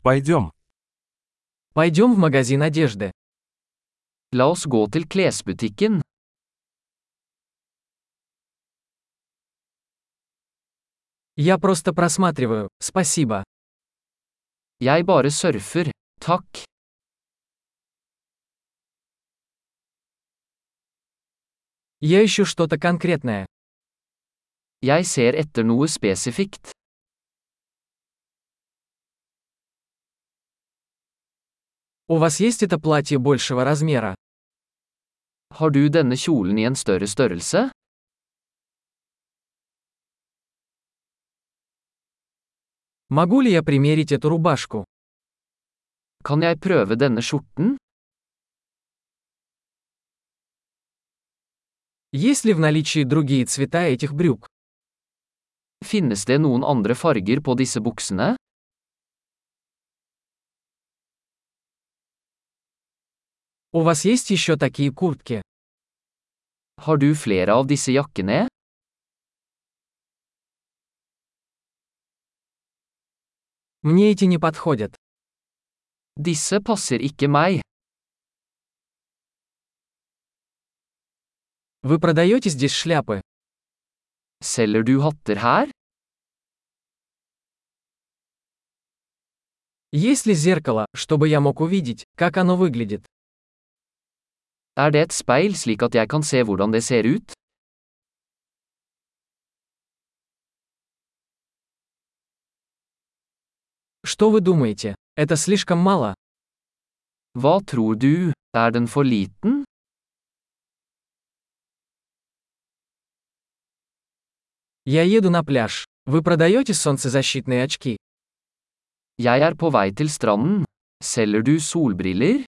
Пойдем. Пойдем в магазин одежды. La oss gå til klesbutikken. Я просто просматриваю, спасибо. Jeg bare surfer. Takk. Я ищу что-то конкретное. Jeg ser etter noe spesifikt. У вас есть это платье большего размера? Har du denne kjolen i en større størrelse? Могу ли я примерить эту рубашку? Kan jeg prøve denne skjorten? Есть ли в наличии другие цвета этих брюк? Finnes det noen andre farger på disse buksene? У вас есть еще такие куртки? Har du flere av disse jakkene? Мне эти не подходят. Disse passer ikke meg. Вы продаете здесь шляпы? Selger du hatter her? Есть ли зеркало, чтобы я мог увидеть, как оно выглядит? Er det et speil slik at jeg kan se hvordan det ser ut? Что вы думаете? Это слишком мало? Hva tror du? Er den for liten? Я еду на пляж. Вы продаете солнцезащитные очки? Jeg er på vei til stranden. Selger du solbriller?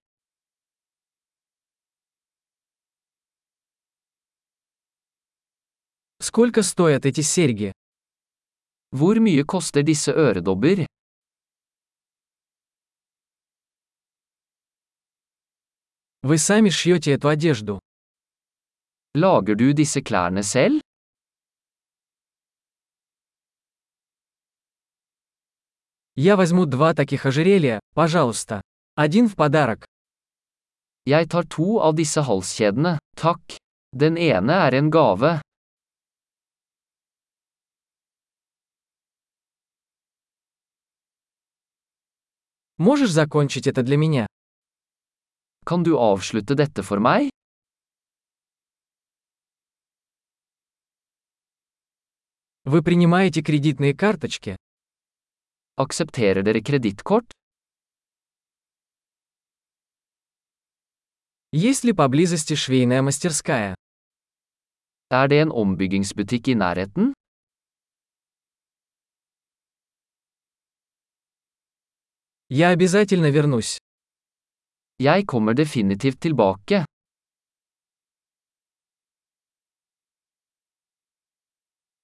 Сколько стоят эти серьги? Hvor mye koster disse øredobber? Вы сами шьете эту одежду. Lager du disse klærne selv? Я возьму 2 таких ожерелья, пожалуйста. Один в подарок. Jeg tar 2 av disse halskjedene, takk. Den ene er en gave. Можешь закончить это для меня? Kan du avslutte dette for meg? Вы принимаете кредитные карточки? Aksepterer dere kredittkort? Есть ли поблизости швейная мастерская? Er det en ombyggingsbutikk i nærheten? Я обязательно вернусь. Jeg kommer definitivt tilbake.